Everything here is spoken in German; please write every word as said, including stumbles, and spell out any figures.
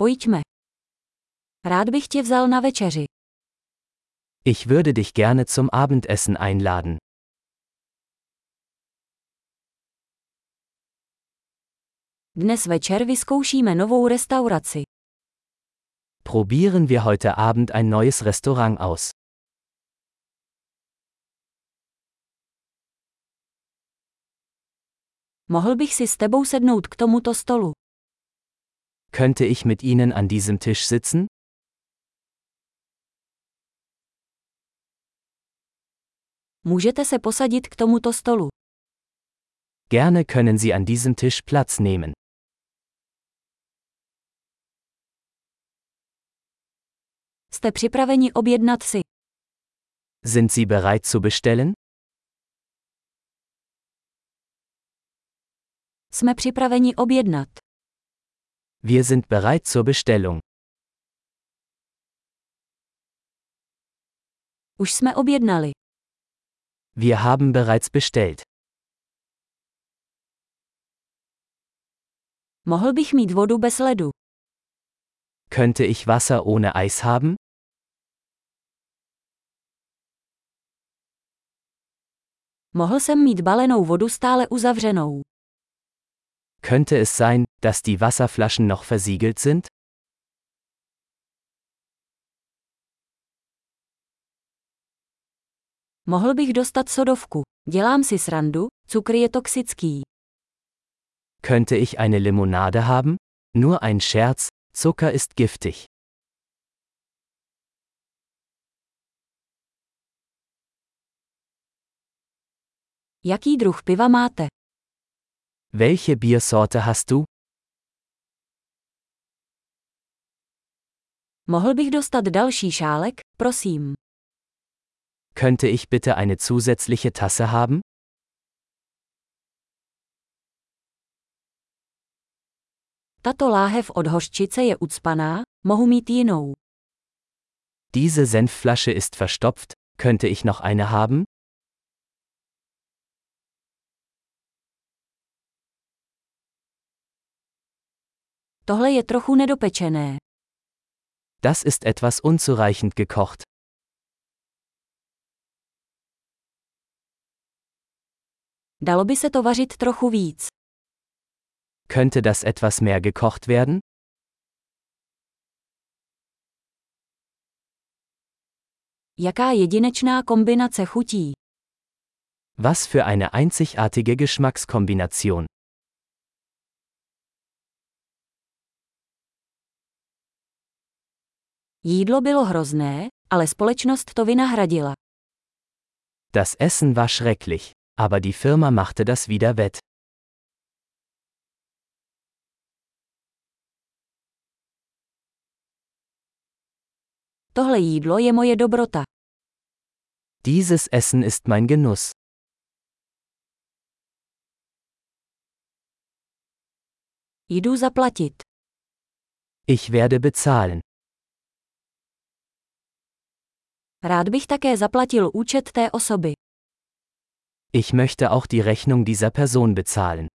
Pojďme. Rád bych tě vzal na večeři. Ich würde dich gerne zum Abendessen einladen. Dnes večer vyzkoušíme novou restauraci. Probieren wir heute Abend ein neues Restaurant aus. Mohl bych si s tebou sednout k tomuto stolu? Könnte ich mit Ihnen an diesem Tisch sitzen? Můžete se posadit k tomuto stolu. Gerne können Sie an diesem Tisch Platz nehmen. Jste připraveni objednat si? Sind Sie bereit zu bestellen? Jsme připraveni objednat. Wir sind bereit zur Bestellung. Už jsme objednali. Wir haben bereits bestellt. Mohl bych mít vodu bez ledu? Könnte ich Wasser ohne Eis haben? Mohl jsem mít balenou vodu stále uzavřenou. Könnte es sein, dass die Wasserflaschen noch versiegelt sind? Mohl bych dostat sodovku. Dělám si srandu, cukr je toxický. Könnte ich eine Limonade haben? Nur ein Scherz, Zucker ist giftig. Jaký druh piva máte? Welche Biersorte hast du? Mohl bych dostat další šálek, prosím. Könnte ich bitte eine zusätzliche Tasse haben? Tato láhev od hořčice je ucpaná, mohu mít jinou. Diese Senfflasche ist verstopft, könnte ich noch eine haben? Tohle je trochu nedopečené. Das ist etwas unzureichend gekocht. Dalo by se to vařit trochu víc. Könnte das etwas mehr gekocht werden? Jaká jedinečná kombinace chutí. Was für eine einzigartige Geschmackskombination. Jídlo bylo hrozné, ale společnost to vynahradila. Das Essen war schrecklich, aber die Firma machte das wieder wett. Tohle jídlo je moje dobrota. Dieses Essen ist mein Genuss. Jdu zaplatit. Ich werde bezahlen. Rád bych také zaplatil účet té osoby. Ich möchte auch die Rechnung dieser Person bezahlen.